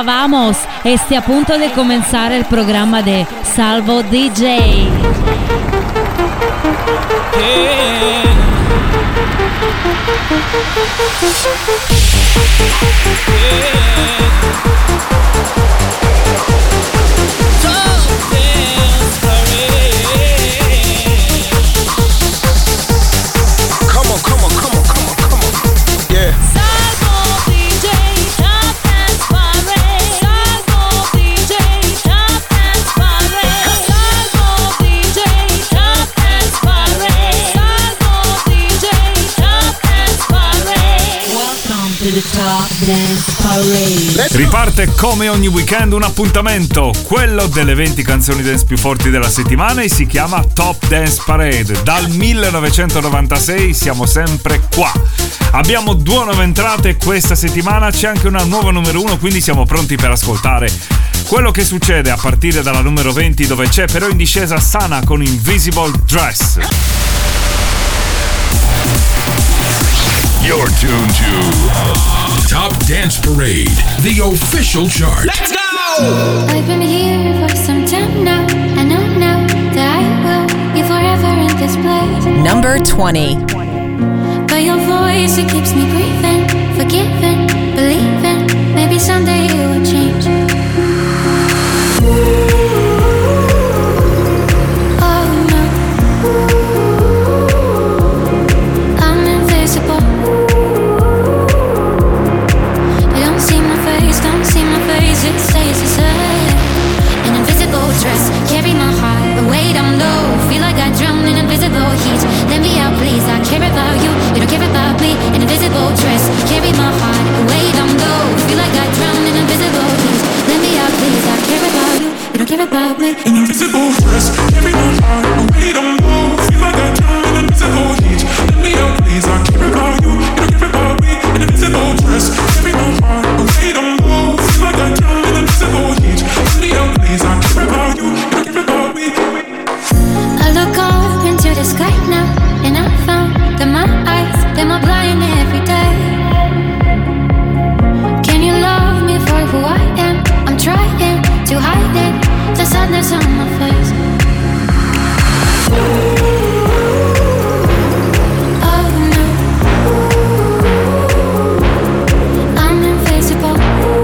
Hola, vamos. Este a punto de comenzar el programa de Salvo DJ. Riparte come ogni weekend un appuntamento, quello delle 20 canzoni dance più forti della settimana, e si chiama Top Dance Parade. Dal 1996 siamo sempre qua. Abbiamo 2 nuove entrate questa settimana, c'è anche una nuova numero 1, quindi siamo pronti per ascoltare quello che succede a partire dalla numero 20, dove c'è però in discesa Sana con Invisible Dress. You're tuned to Top Dance Parade, the official chart. Let's go! I've been here for some time now. I know now that I will be forever in this place. Number 20. But your voice, it keeps me breathing, forgiving, believing. Maybe someday it will change. Oh no, I'm invisible. Don't see my face, it stays the same. An invisible dress, carry my heart, but weight I'm low. Feel like I drown in invisible heat. Let me out, please, I care about you, you don't care about me. An invisible dress, carry my heart, but weight I'm low. Feel like I drown in invisible heat. Let me out, please, I care about you, you don't care about me. An invisible dress, carry my heart, but weight I'm low. Feel like I drown in invisible heat. Let me out, please, I care about you, you don't care about me. An invisible dress, carry my heart, but weight I'm low. Feel like I drown in invisible heat. Let me out, please, I care about you, you don't care about me. I look up into the sky now, and I found that my eyes, them are blind every day. Can you love me for who I am? I'm trying to hide it, the sadness on my face. Oh no, I'm invisible.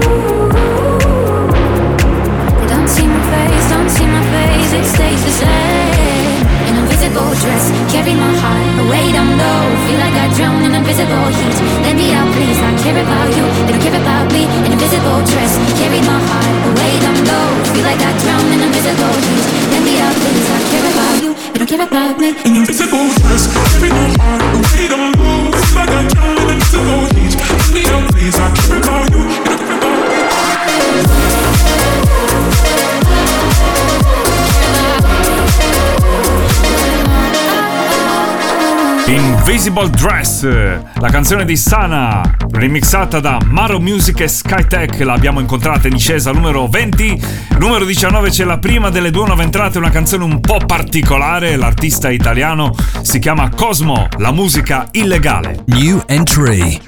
They don't see my face, it stays the same. An invisible dress, carry my heart, but weight I'm low. Feel like I drown in invisible heat. Let me out, please, I care about you, you don't care about me. An invisible dress, carry my heart, but weight I'm low. Feel like I drown in invisible heat. Let me out, please, I care about you, you don't care about me. An invisible dress, carry my heart, but weight I'm low. Feel like I drown in invisible heat. Let me out, please, I care about you, you don't care about me. Invisible Dress, la canzone di Sana, remixata da Maro Music e Skytech. L'abbiamo incontrata in discesa numero 20. Numero 19 c'è la prima delle 2 nuove entrate, una canzone un po' particolare. L'artista italiano si chiama Cosmo, la musica illegale. New entry.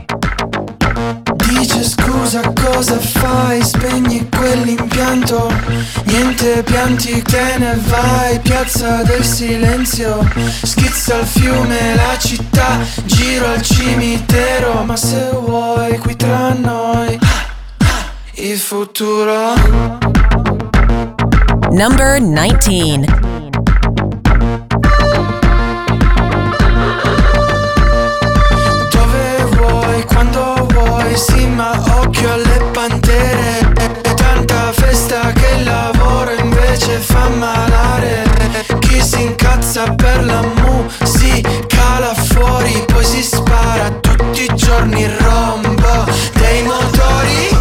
Dice scusa, cosa fai? Spegni quell'impianto. Niente pianti, te ne vai. Piazza del silenzio. Schizza il fiume, la città. Giro al cimitero. Ma se vuoi qui tra noi il futuro. Number 19. Sì, ma occhio alle pantere. Tanta festa che il lavoro invece fa malare. Chi si incazza per la musica là fuori, poi si spara tutti i giorni il rombo dei motori.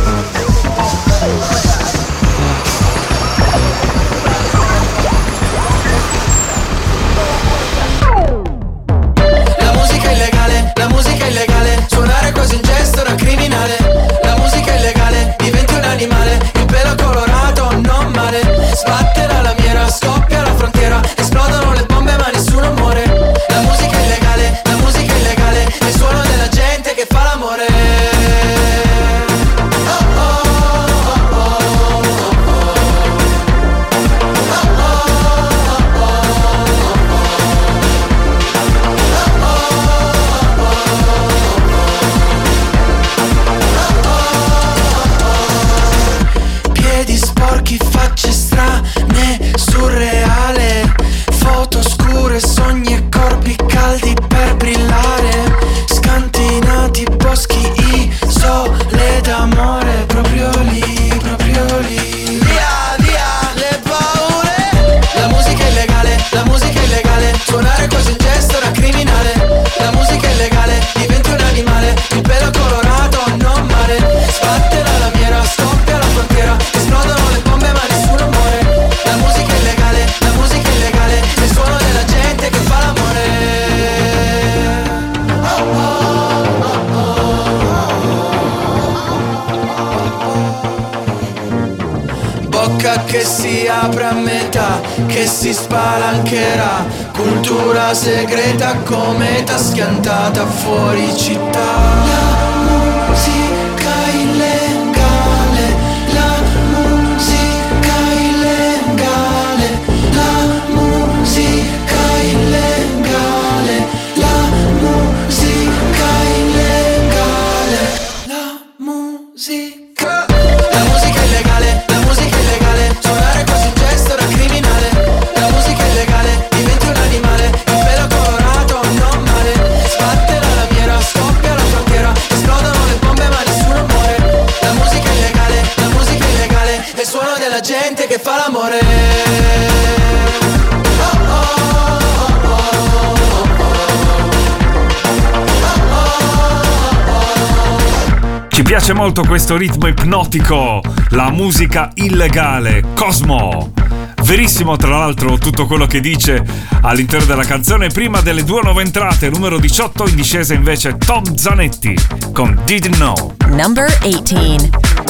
bocca che si apre a metà, che si spalancherà, cultura segreta come t'ha schiantata fuori città. La musica illegale, la musica illegale, la musica illegale, la musica illegale, la musica. La musica illegale, la musica illegale, suonare quasi un gesto da criminale. La musica illegale, diventi un animale, il pelo colorato non male. Sbatte la lamiera, scoppia la frontiera, esplodono le bombe ma nessuno muore. La musica illegale, è il suono della gente che fa l'amore. Ci piace molto questo ritmo ipnotico, la musica illegale, Cosmo. Verissimo tra l'altro tutto quello che dice all'interno della canzone. Prima delle due nuove entrate, numero 18 in discesa invece Tom Zanetti con Didn't Know. Number 18.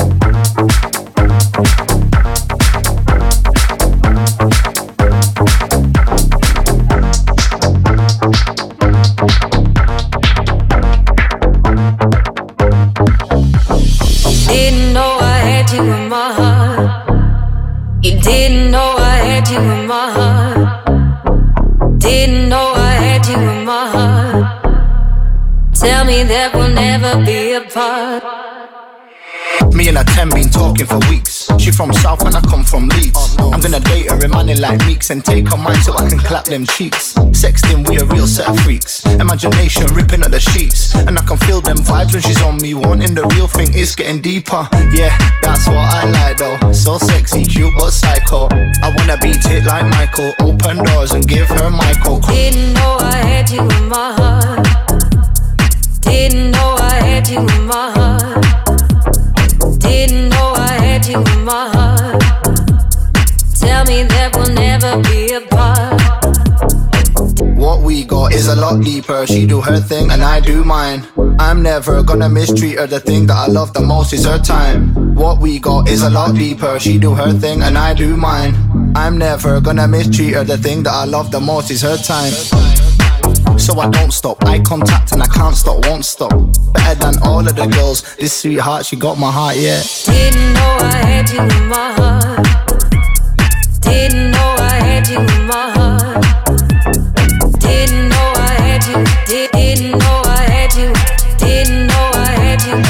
Didn't know I had you in my heart. You didn't know I had you in my heart. Didn't know I had you in my heart. Tell me that we'll never be apart. Me and her 10 been talking for weeks. She from South and I come from Leeds. I'm gonna date her in money like Meeks and take her mind so I can clap them cheeks. Sexting, we a real set of freaks. Imagination ripping at the sheets. And I can feel them vibes when she's on me. Wanting the real thing is getting deeper. Yeah, that's what I like though. So sexy, cute but psycho. I wanna beat it like Michael. Open doors and give her Michael. Didn't know I had you in my heart. Didn't know I had you in my heart. Didn't know I had you in my heart. Tell me that we'll never be apart. What we got is a lot deeper. She do her thing and I do mine. I'm never gonna mistreat her. The thing that I love the most is her time. What we got is a lot deeper. She do her thing and I do mine. I'm never gonna mistreat her. The thing that I love the most is her time. So I don't stop, eye contact and I can't stop, won't stop. Better than all of the girls, this sweetheart, she got my heart, yeah. Didn't know I had you in my heart. Didn't know I had you in my heart. Didn't know I had you, didn't know I had you, didn't know I had you.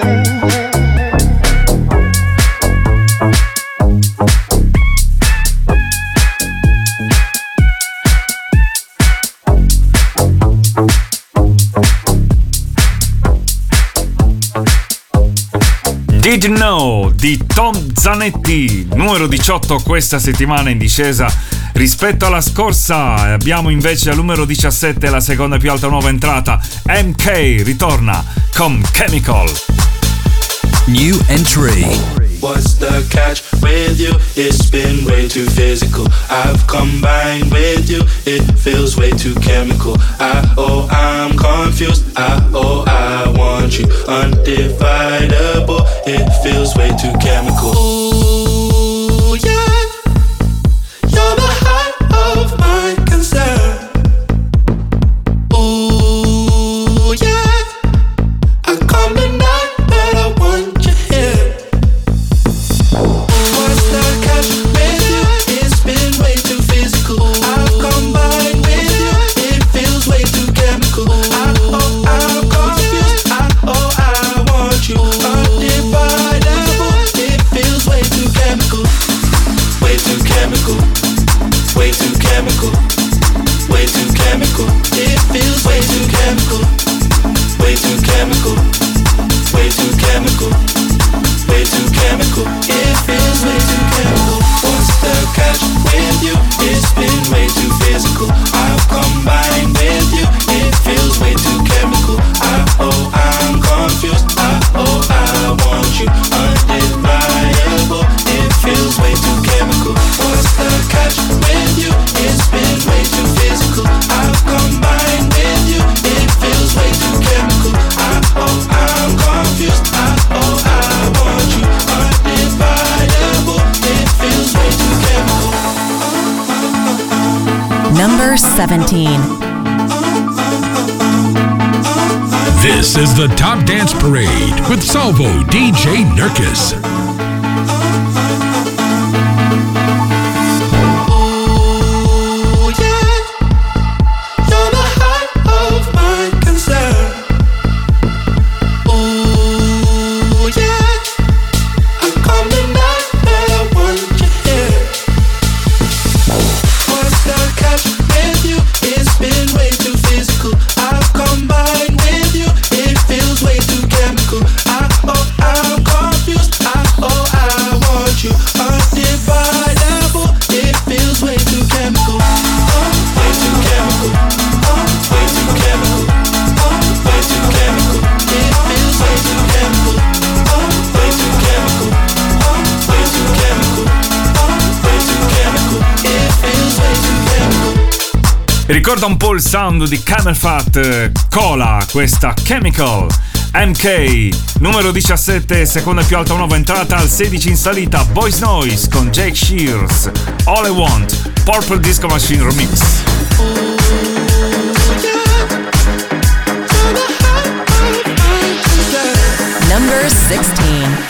Didn't Know di Tom Zanetti, numero 18 questa settimana in discesa rispetto alla scorsa. Abbiamo invece al numero 17 la seconda più alta nuova entrata, MK ritorna con Chemical. New entry. What's the catch with you? It's been way too physical. I've combined with you. It feels way too chemical. I'm confused. I want you. Undividable. It feels way too chemical. Ooh, yeah. You're the height of my concern. Ooh, yeah. I come tonight, but I want you here. What's the catch with you? It's been way too physical. I've combined with you. It feels way too chemical. I'm confused. I want you. Undividable. It feels way Number 17. This is the Top Dance Parade with Salvo DJ Nurkis. Ricorda un po' il sound di Camel Fat, Cola, questa Chemical. MK, numero 17, seconda più alta nuova entrata, al 16 in salita, Boys Noise con Jake Shears, All I Want, Purple Disco Machine Remix. Number 16.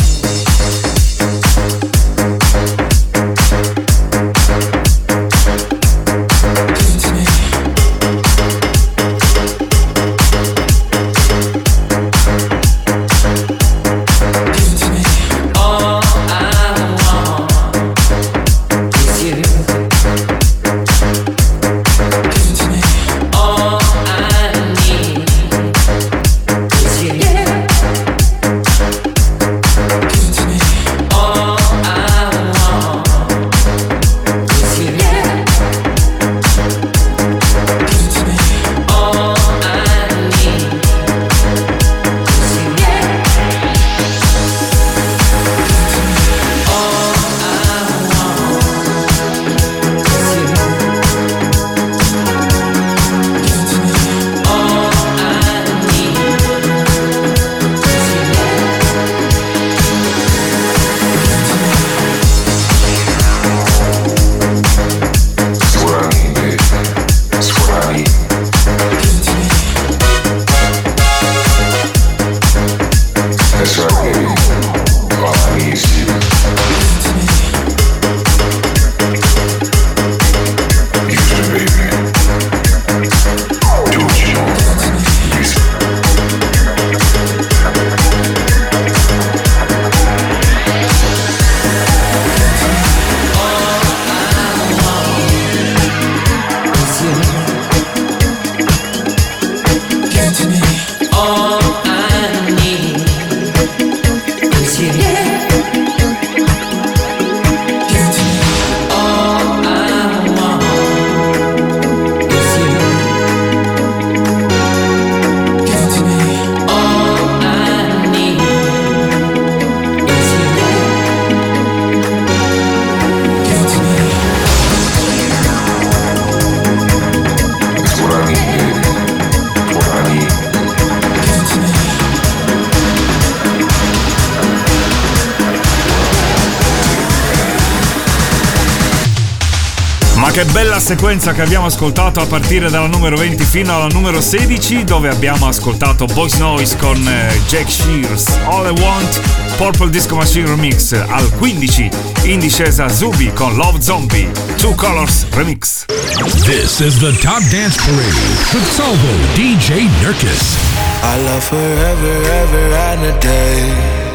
Che bella sequenza che abbiamo ascoltato a partire dalla numero 20 fino alla numero 16, dove abbiamo ascoltato Boys Noise con Jake Shears, All I Want, Purple Disco Machine Remix. Al 15 in discesa Zubi con Love Zombie, Two Colors Remix. This is the Top Dance Parade with Salvo DJ Nurkis. I love forever, ever and a day.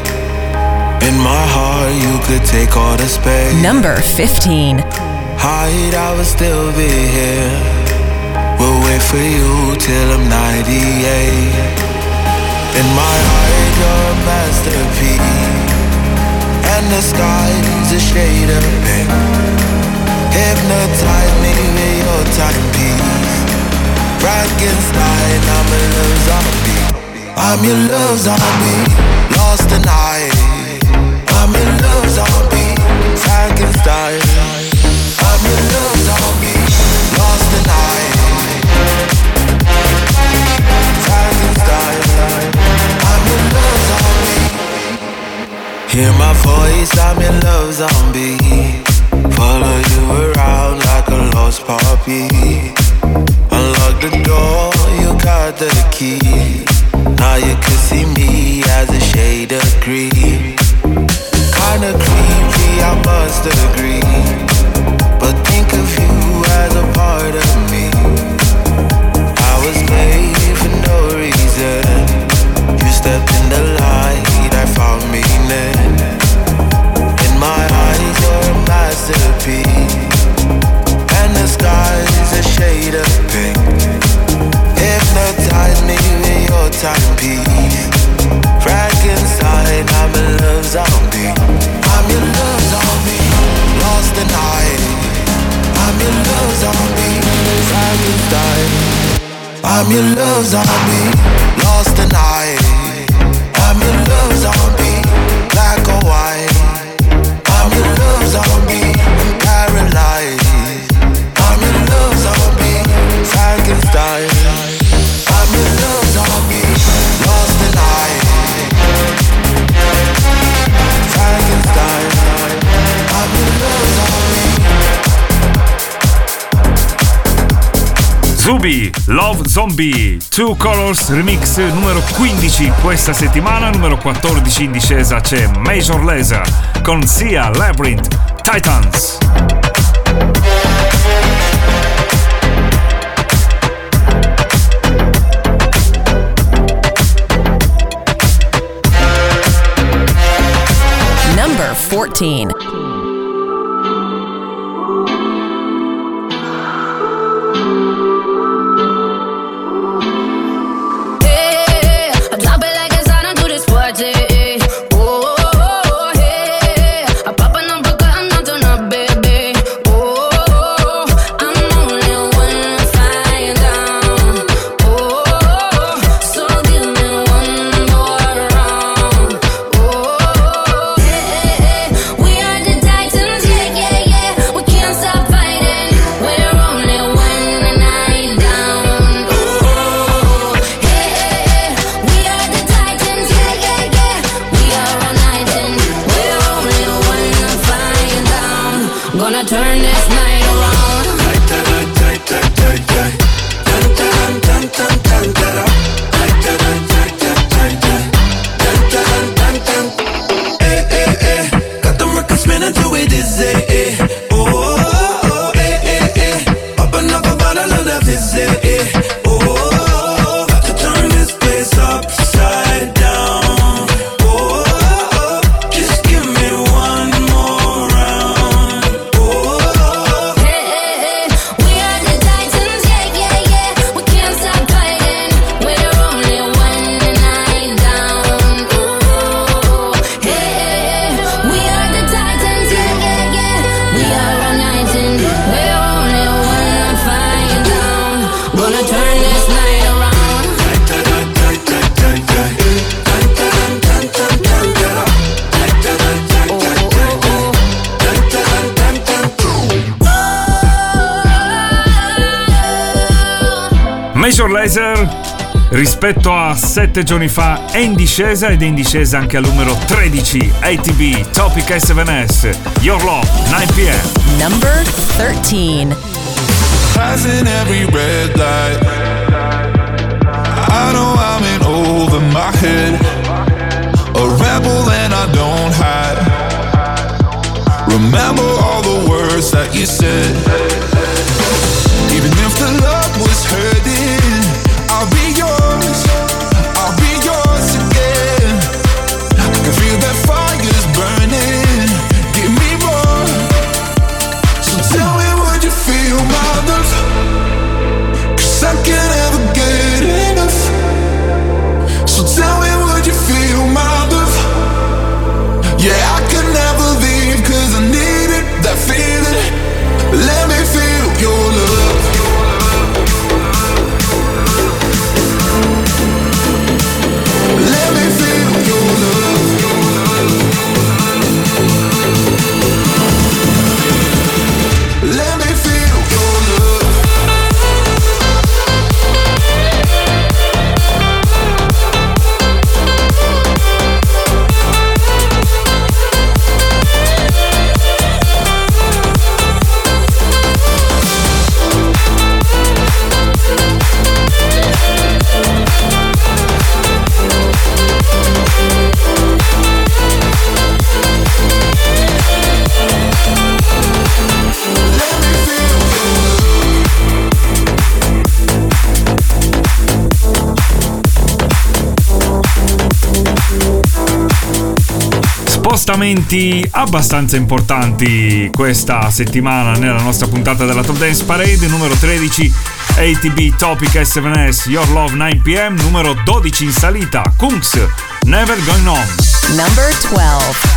In my heart you could take all the space. Number 15. Hide, I will still be here. We'll wait for you till I'm 98. In my heart, you're a masterpiece, and the sky's a shade of pink. Hypnotize me with your timepiece. Frankenstein, I'm a love zombie. I'm your love zombie. Lost tonight. I'm your love zombie. Frankenstein. I'm your love zombie, lost the night. Frankenstein, I'm your love zombie. Hear my voice, I'm your love zombie. Follow you around like a lost puppy. I'm your love zombie, lost tonight. I'm your love zombie, black or white. I'm your love zombie, paralyzed. I'm your love zombie, Frankenstein. I'm your love zombie, lost tonight. Frankenstein. I'm your love zombie. Zubi, Love Zombie, Two Colors Remix numero 15 questa settimana, numero 14 in discesa c'è Major Lazer con Sia, Labyrinth, Titans. Number 14. Major Lazer rispetto a 7 giorni fa è in discesa ed è in discesa anche al numero 13 ATB Topic S7S Your Love 9pm. Number 13. Passing every red light, I know I'm in over my head, a rebel and I don't hide. Remember all the words that you said. Even if the love was hurting, I'll be yours, I'll be yours again. I can feel that fire's burning, give me more. So tell me, would you feel my love? 'Cause I can't ever get enough. So tell me, would you feel my love? Yeah, I could never leave 'cause I needed that feeling. Let me feel your love. Let me feel your love. Let me feel your love. Spostamenti abbastanza importanti questa settimana nella nostra puntata della Top Dance Parade. Numero 13 ATB Topic S7S Your Love 9pm. Numero 12 in salita Kungs Never Going On. Number 12.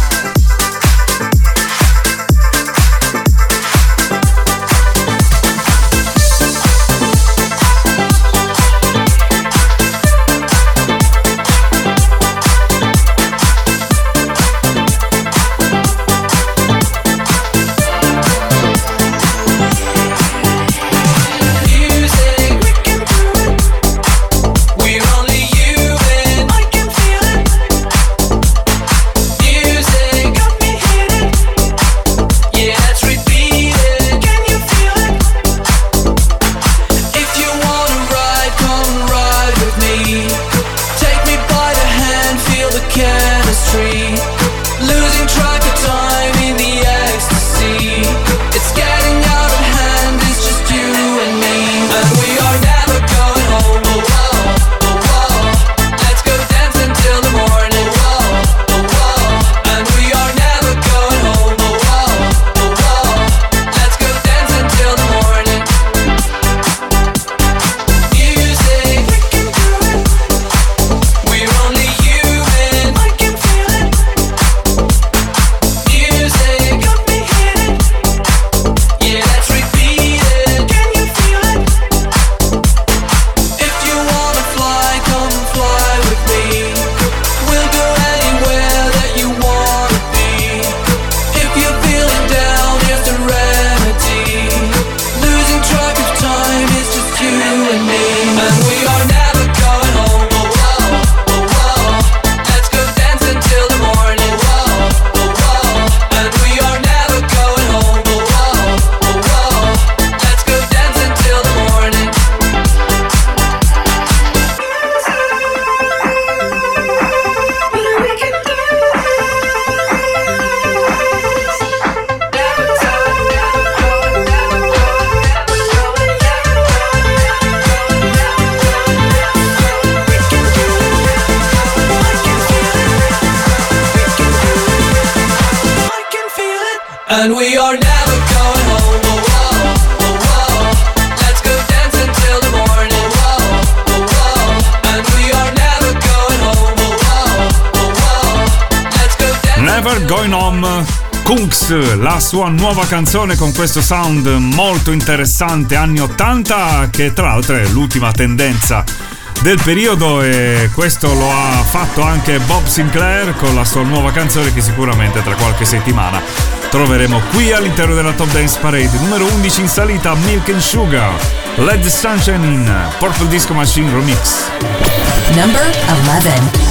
And we are never going home. Oh, whoa, oh, whoa. Let's go dance until the morning. Whoa, oh, whoa. And we are never going home. Oh, whoa, oh, whoa. Let's go dance. Never Going Home. Kunks, la sua nuova canzone con questo sound molto interessante anni 80, che tra l'altro è l'ultima tendenza del periodo, e questo lo ha fatto anche Bob Sinclair con la sua nuova canzone che sicuramente tra qualche settimana troveremo qui all'interno della Top Dance Parade. Numero 11 in salita, Milk and Sugar, Let the Sunshine In, Purple Disco Machine Remix. Number 11.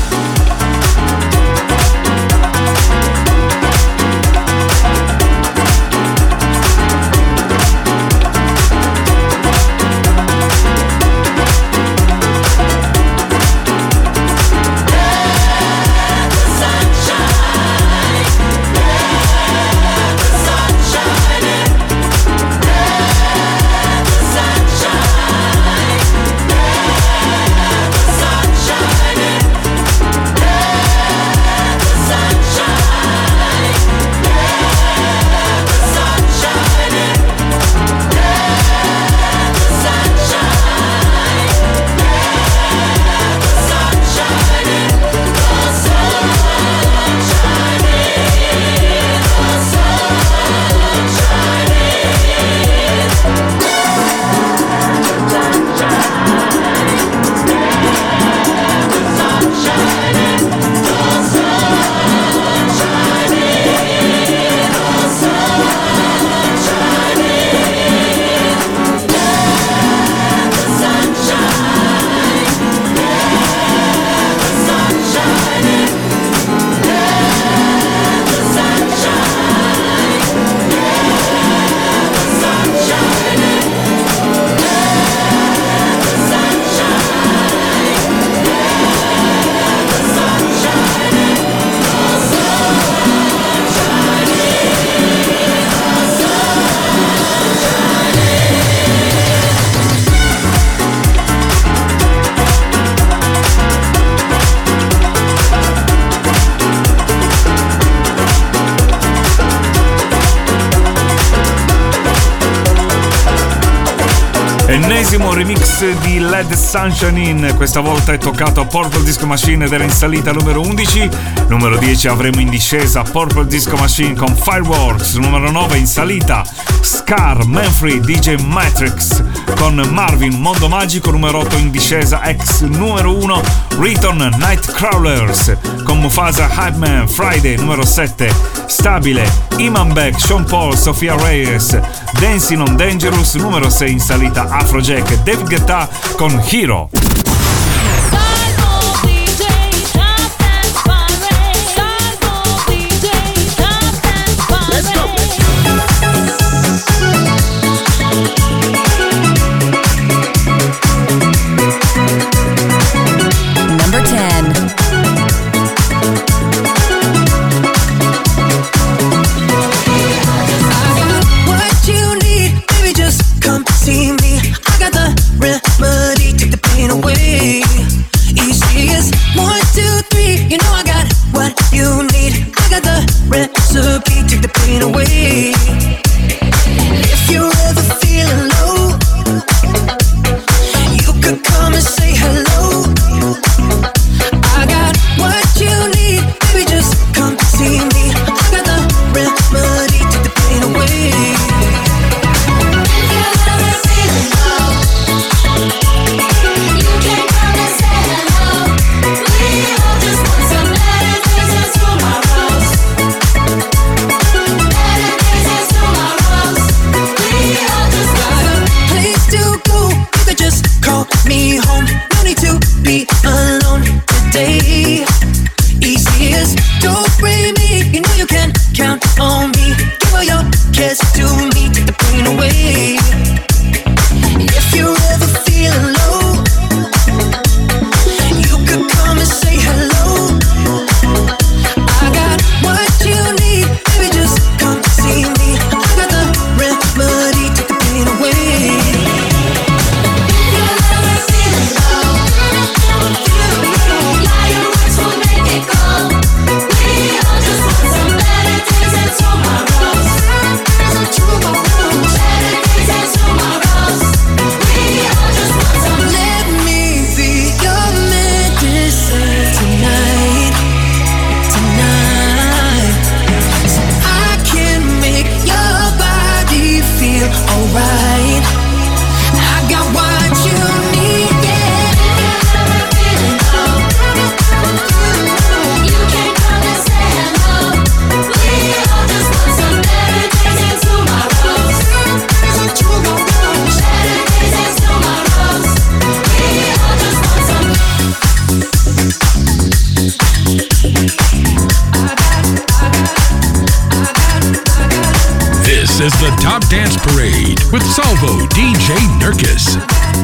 Ennesimo remix di Let the Sunshine In, questa volta è toccato a Purple Disco Machine ed era in salita numero 11. Numero 10 avremo in discesa Purple Disco Machine con Fireworks. Numero 9 in salita Scar, Manfrey, DJ Matrix con Marvin, Mondo Magico. Numero 8 in discesa ex numero 1 Return, Nightcrawlers con Mufasa, Hype Man, Friday. Numero 7 stabile Iman Beck, Sean Paul, Sofia Reyes, Dancing on Dangerous. Numero 6 in salita Afrojack e David Guetta con Hero. Number 10. See me, I got the remedy, take the pain away. Easy as 1, 2, 3, you know I got what you need. I got the recipe, take the pain away. If you're ever feeling low, you could come and say hello. I got what you need, baby, just come see me. I got the remedy, take the pain away. Better days in tomorrow. This is the Top Dance Parade with Salvo DJ Nurkis.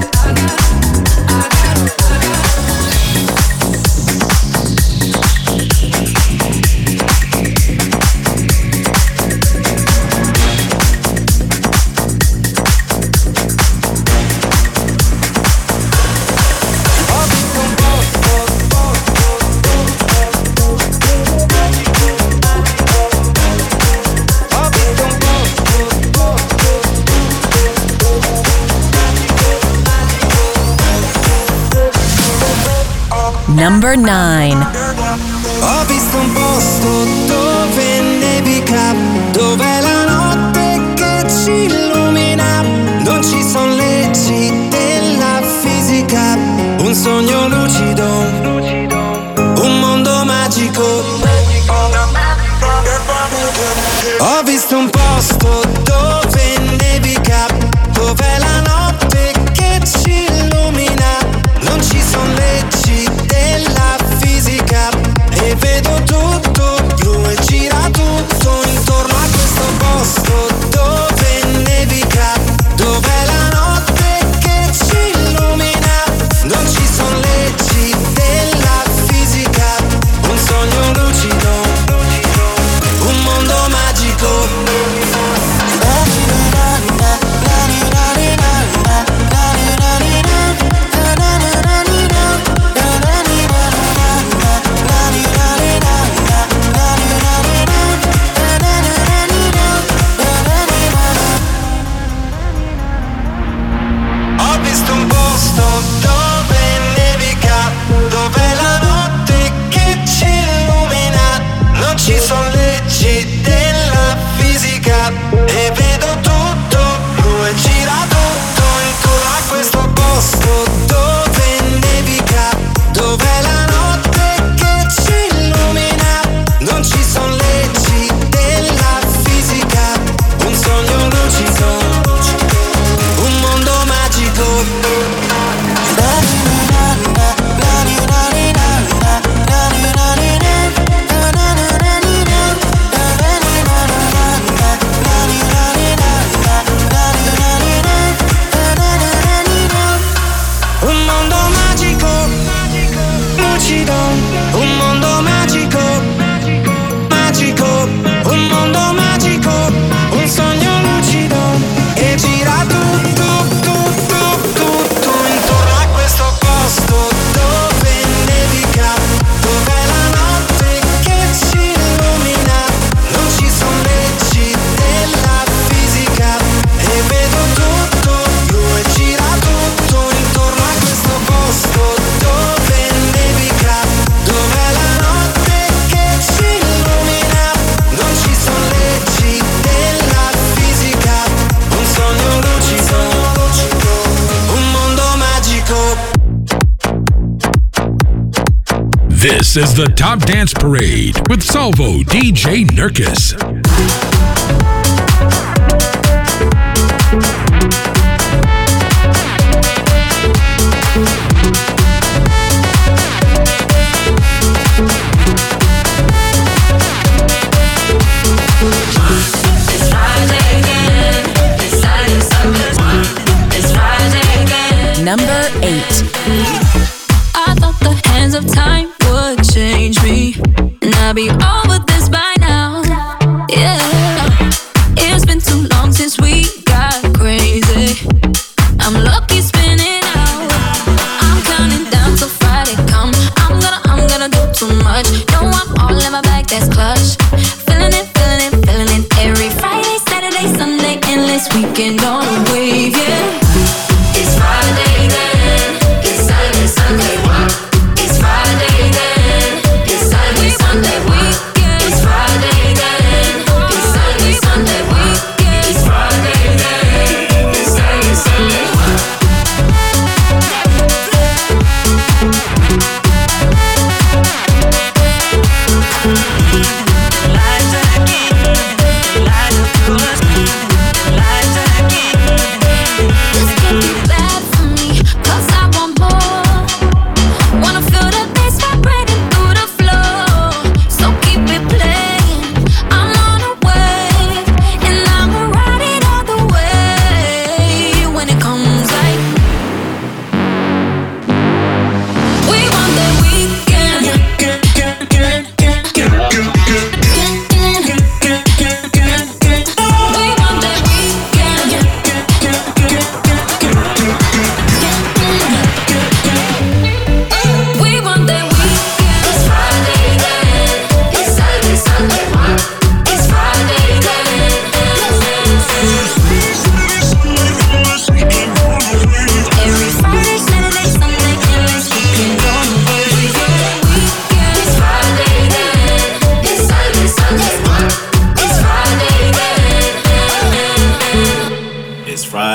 Number 9. Ho visto un posto dove nevica, dove la notte che ci illumina, non ci sono leggi della fisica, un sogno lucido, un mondo magico. Ho visto un posto dove nevica, dove la notte che ci illumina, non ci sono leggi della fisica e vedo tutto blu e gira tutto intorno a questo posto dove nevica, dove la notte che ci illumina, non ci sono leggi della fisica, un sogno lucido, un mondo magico. Ho visto un posto dove nevica, dove la notte che ci illumina, non ci sono leggi della fisica e vedo tutto blu e gira tutto intorno a questo posto dove nevica, dove la notte che ci illumina, non ci sono leggi della fisica, un sogno lucido, un mondo magico. Un mondo magico, lucido, un mondo magico, magico, un mondo magico, un sogno lucido che gira tutto, tutto, tutto intorno a questo posto dove nevica, dove la notte che ci illumina, non ci sono leggi della fisica e vedo tutto blu e gira tutto intorno a questo posto dove nevica, dove la notte che ci illumina, non ci sono leggi della fisica, un sogno lucido, un mondo magico. This is the Top Dance Parade with Salvo DJ Nurkis. Number 8. I thought the hands of time would change me, and I'd be over this by now. Yeah, it's been too long since we got crazy. I'm lucky spinning out. I'm counting down till Friday come. I'm gonna do too much. No, I'm all in my bag, that's clutch. Feeling it, feeling it, feeling it. Every Friday, Saturday, Sunday, endless weekend on a wave, yeah. It's Friday then, it's Saturday, Sunday. It's Friday then, it's Saturday, Sunday. It's Friday then, it's Saturday, Sunday. It's Friday then, it's Saturday, Sunday. Lights again, light up yours, lights again.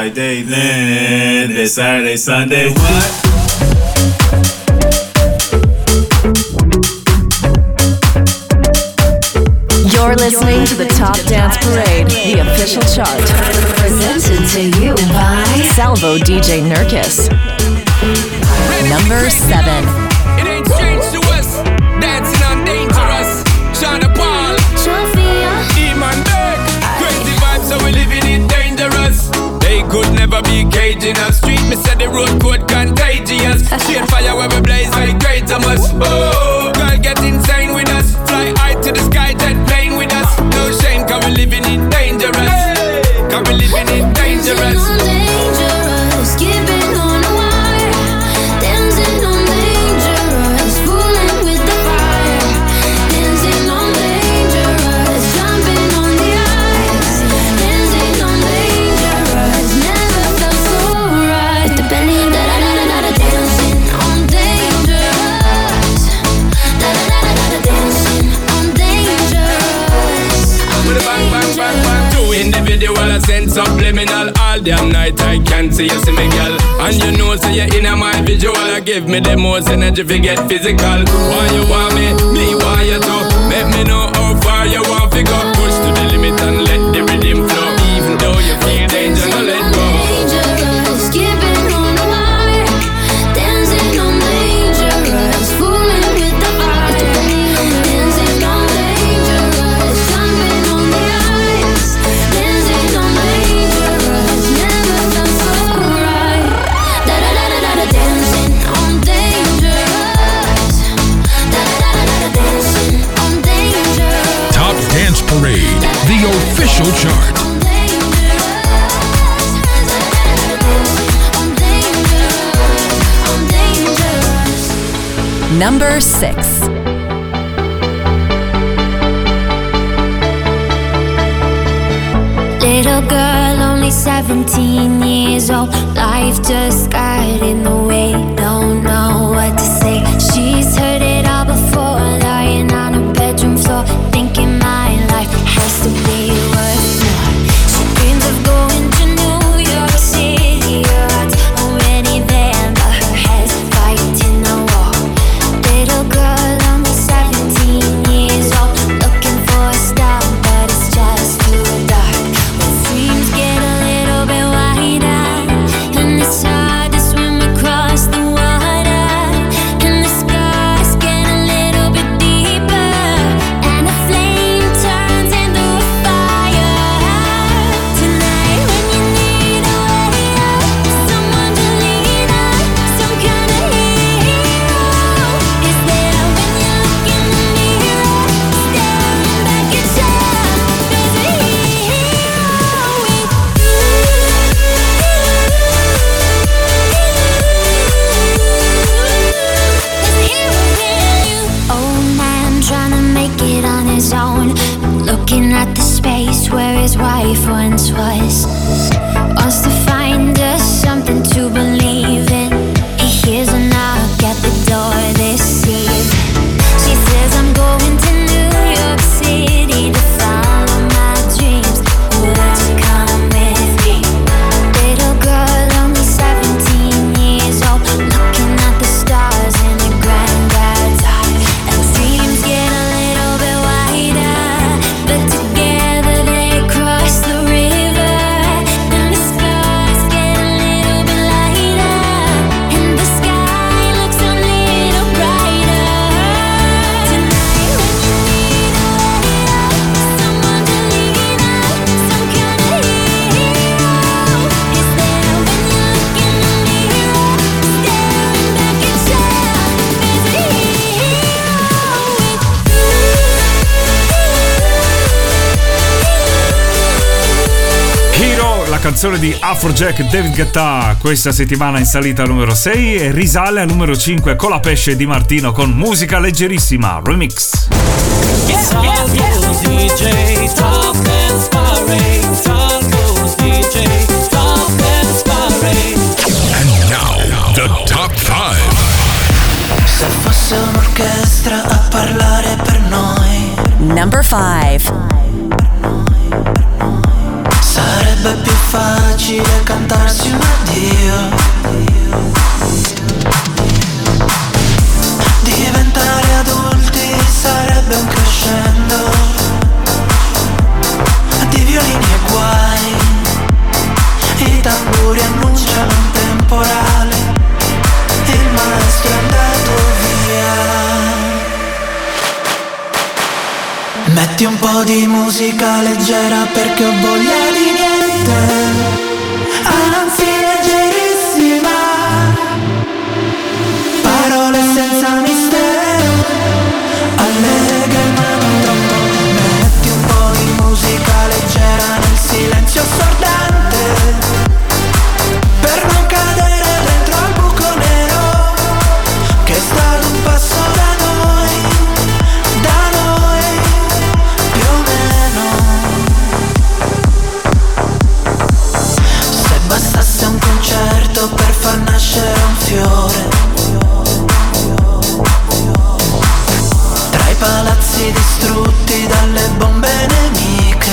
Friday, then Saturday, Sunday. What? You're listening to the Top Dance Parade, the official chart. Presented to you by Salvo DJ Nurkis. Number 7. It ain't strange to us, dancing on Dangerous. Shonda Paul, Eman Beck, crazy vibes, so we living it dangerous. They could never be caging us. Street, me said the road code contagious. Shade fire where we blaze like great of us. Oh, girl get insane with us. Fly high to the sky, jet plane with us. No shame, cause we living it dangerous. Cause we living it dangerous. Dangerous, keeping on the wire, dancing on dangerous, fooling with the fire, dancing on dangerous, jumping on the ice, dancing on dangerous, never felt so right. With the belly, da da da da da, dancing on dangerous, da da da da da, dancing on dangerous. With a bang bang bang bang. Two individual, I send subliminal. All damn night I can't see you, see me girl. And you know, say you're in my visual. I give me the most energy if you get physical. Why you want me want you too. Let me know how far you want to go. Push to the limit and let the rhythm flow. Even though you feel danger, no let go. Dangerous, keeping on the wire, dancing on dangerous, fooling with the fire, dancing on dangerous, jumping on the ice, dancing on dangerous, never felt so right. Da da da da da, dancing on dangerous, da da da da da, dancing on dangerous. Top Dance Parade, the official chart. Number 6. Little girl, only 17 years old. Life just got in the way. Don't know what to say. She's heard it all before, lying on her bedroom floor, thinking my life has to be worth more. She dreams of going to New York City. Her heart's already there, but her head's fighting the war. Little girl, only 17 years old, looking for a star, but it's just too dark. When dreams get a little bit wider, and it's hard to swim across the water, and the skies get a little bit deeper, and a flame turns into a fire. Tonight when you need a way out, someone to lean on, some kind of hero is there when you look in the mirror, staring back at yourself. There's a hero with you. Old man trying to make it on his own, looking at the space where his wife once was. Wants to find us something to believe in. He hears a knock at the door this eve. She says, I'm going to New York City to follow my dreams. Would you come with me? Little girl, only 17 years old, looking at the stars in her granddad's eye. And dreams get a little bit wider, but together they cross the river. And the skies get a little bit lighter, and the sky looks a little brighter. Tonight when you need a way out, someone to lean on, some kind of hero is there when you look in the mirror, staring back at yourself. There's a hero with you. Hero, la canzone di Afrojack e David Guetta, questa settimana in salita al numero 6 e risale al numero 5 con la pesce di Martino con Musica Leggerissima Remix. Salvo's DJ, Top Dance Parade. Salvo's DJ, Top Dance Parade. And now, the top 5. Se fosse un'orchestra a parlare per noi, Number 5. sarebbe più facile cantare cantarsi un addio. Diventare adulti sarebbe un crescendo di violini e guai. I tamburi annunciano un temporale, il maestro è andato via. Metti un po' di musica leggera perché ho voglia di niente, anzi leggerissima. Parole senza mistero, allegre ma non troppo. Metti un po' di musica leggera nel silenzio assordante, per non cadere dentro al buco nero che è stato un passo da noi più o meno. Se bastasse un concerto per far nascere un fiore tra i palazzi distrutti dalle bombe nemiche,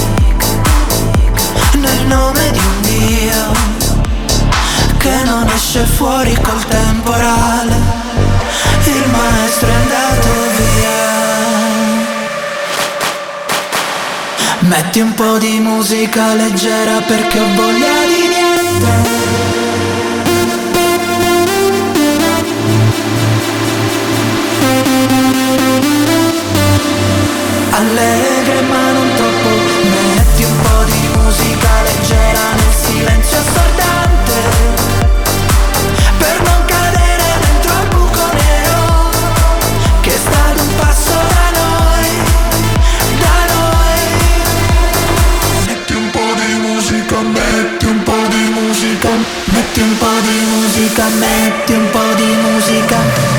nel nome di un Dio che non esce fuori col temporale, il maestro è andato via. Metti un po' di musica leggera perché ho voglia di niente. Allegre ma non troppo. Metti un po' di musica leggera nel silenzio assordante, per non cadere dentro al buco nero che è stato un passo da noi. Metti un po' di musica, metti un po' di musica, metti un po' di musica, metti un po' di musica.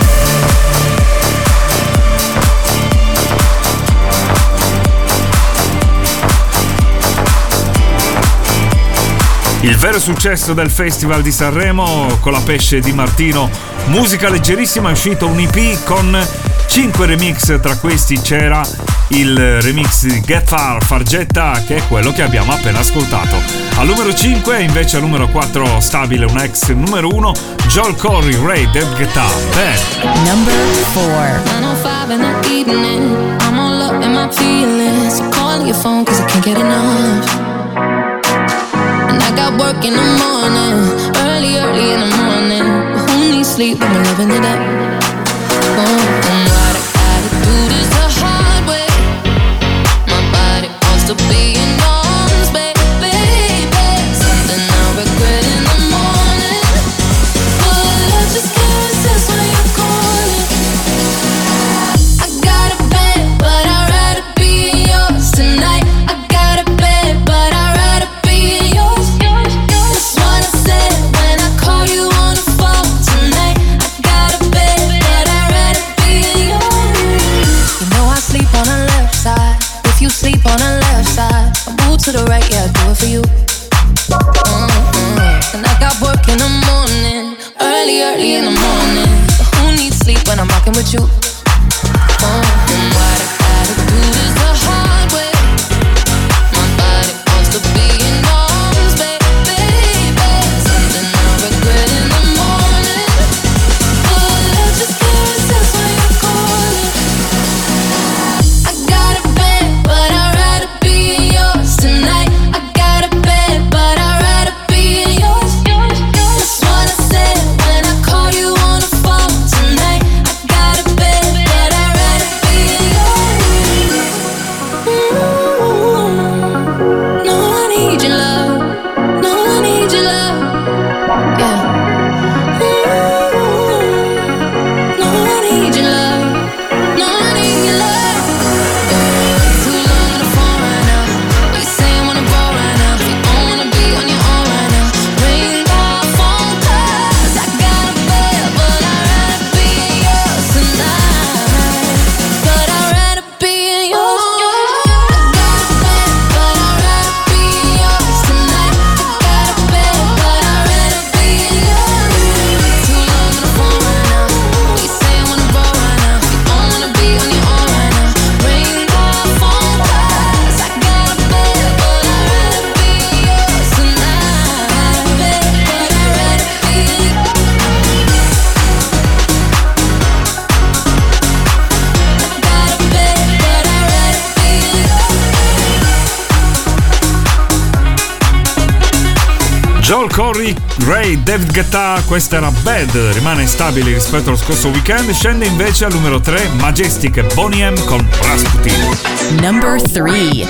Il vero successo del Festival di Sanremo con la pesce di Martino, musica leggerissima, è uscito un EP con 5 remix, tra questi c'era il remix di Get Far Fargetta, che è quello che abbiamo appena ascoltato. Al numero 5 invece al numero 4 stabile un ex numero 1, Joel Corry, Ray Dead Guitar. Number 4. 9:05 in the evening, I'm all up in my feelings, so calling your phone cause I can't get enough. And I got work in the morning, early in the morning, but who needs sleep when we're living it up? Oh, and what I gotta do this the hard way. My body wants to be in arms, baby. Something I'll regret in the morning, but I just can't resist when you're calling. I got a bed, but I'd rather be yours tonight. I got a bed, but I'd rather be yours. That's what I said when I call you on the phone tonight. I got a bed, but I'd rather be yours. You know I sleep on the left side. If you sleep on the left side, I move to the right, yeah, I do it for you. And I got work in the morning, early in the morning. So who needs sleep when I'm rocking with you? And what I gotta do this the hard way. My body wants to be in arms, baby. Something I regret in the morning, but I just can't resist when you're calling. I got a bed, but I'd rather be yours tonight. I got a bed, but I'd rather be yours. That's what I said when I call you on the phone tonight. I got a bed, Joel Corey, Ray, David Guetta, questa era Bad, rimane stabile rispetto allo scorso weekend, scende invece al numero 3 Majestic e Boney M con Rasputin. Number 3.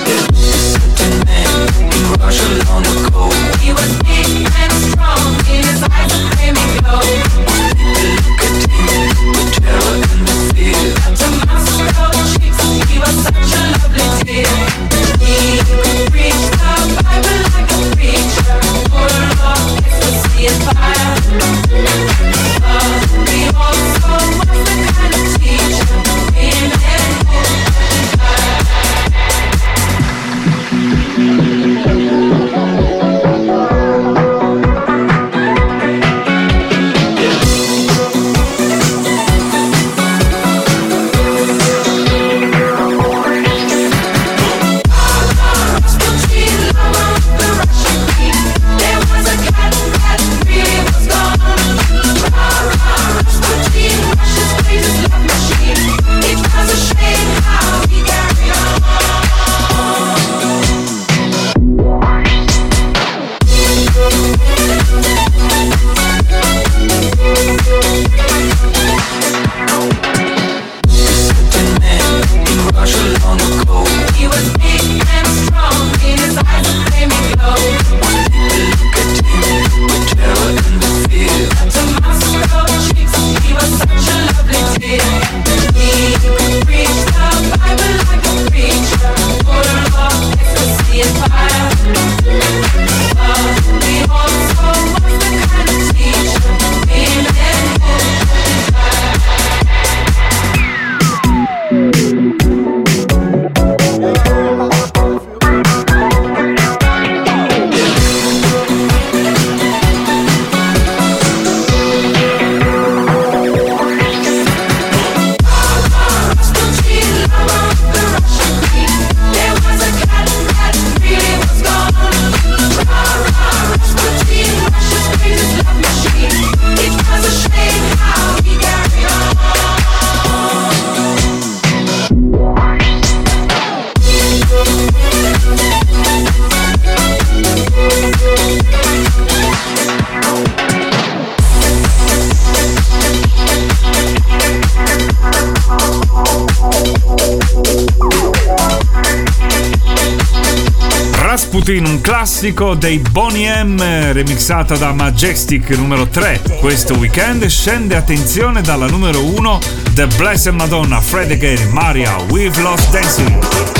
Rasputin, un classico dei Boney M, remixata da Majestic, numero 3. Questo weekend scende, attenzione, dalla numero 1 The Blessed Madonna, Fred Again, Maria, We've Lost Dancing.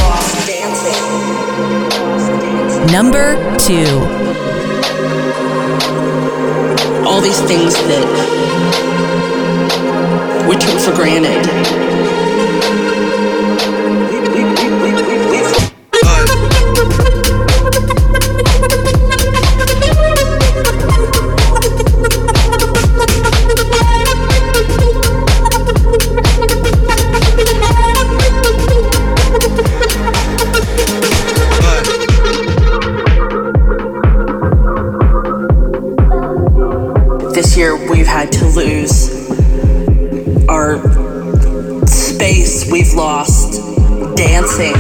Number 2. All these things that we took for granted. This year we've had to lose our space, we've lost dancing.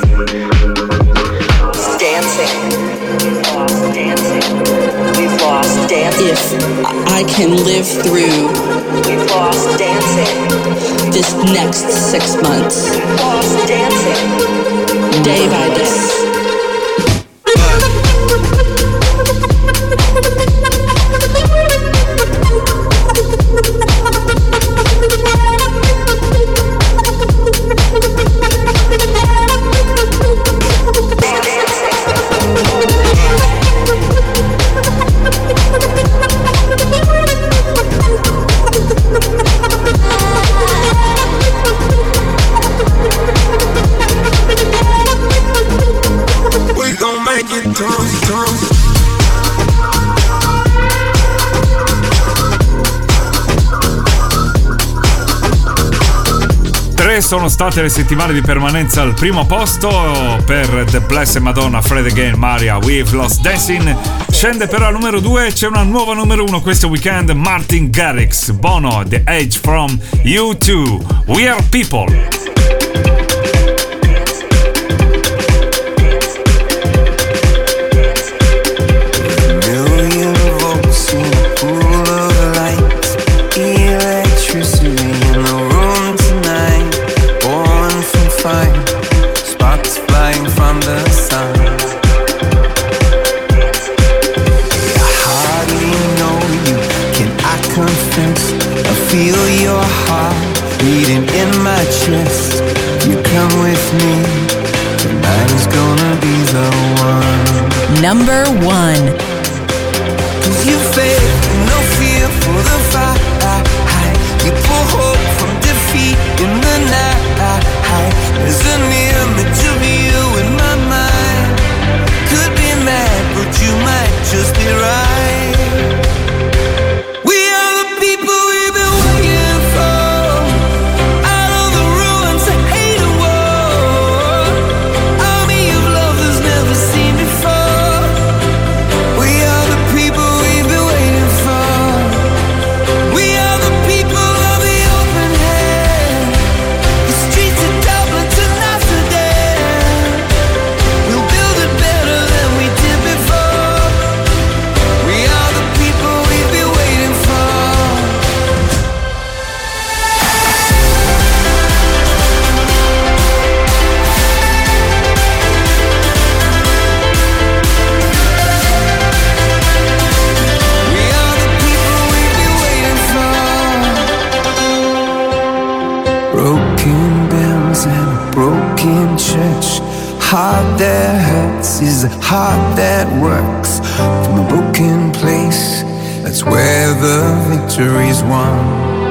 We've lost dancing. If I can live through we've lost dancing this next 6 months, we've lost dancing day by day. Sono state le settimane di permanenza al primo posto per The Blessed Madonna, Fred Again, Maria, We've Lost Dancing. Scende però al numero 2, c'è una nuova numero 1 questo weekend, Martin Garrix, Bono, The Age from U2, We Are People. Million Number 1. 'Cause you faith, no fear for the fight. You pull hope from defeat in the night. There's an image of you in my mind. Could be mad, but you might just be right. We are the people we've been waiting for. Out of the ruins of hate and war. Army of lovers never seen before. We are the people we've been waiting for. We are the people of the open hand. The streets of Dublin to Amsterdam. We'll build it better than we did before. We are the people we've been waiting for. We are the people we've been waiting for. Broken bells and a broken church. Heart that hurts is a heart that works. From a broken place, that's where the victory's won.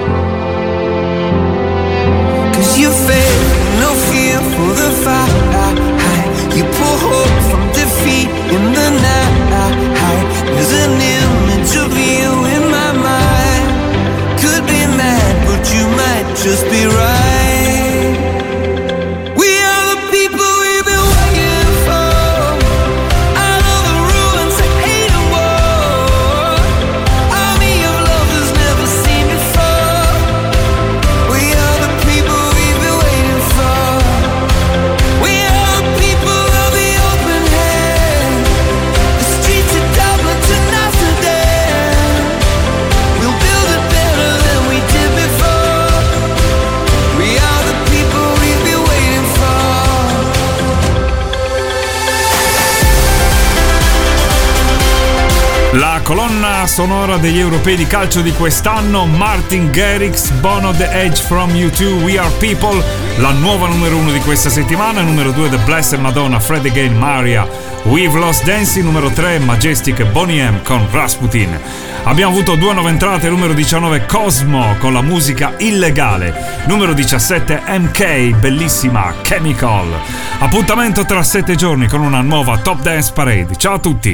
'Cause you faith, no fear for the fight. You pull hope from defeat in the night. There's an image of you in my mind. Could be mad, but you might just be right. We are the people we've been waiting for. Out of the ruins of hate and war. Army of lovers never seen before. We are the people we've been waiting for. We are the people of the open hand. The streets of Dublin to Amsterdam. We'll build it better than we did before. We are the people we've been waiting for. La colonna sonora degli europei di calcio di quest'anno, Martin Garrix, Bono, The Edge from U2, We Are People, la nuova numero 1 di questa settimana, numero 2 The Blessed Madonna, Fred Again, Maria, We've Lost Dancing, numero 3 Majestic e Boney M con Rasputin. Abbiamo avuto 2 nuove entrate, numero 19 Cosmo con la musica Illegale, numero 17 MK, bellissima Chemical. Appuntamento tra 7 giorni con una nuova Top Dance Parade. Ciao a tutti!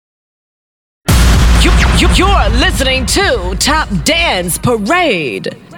You're listening to Top Dance Parade.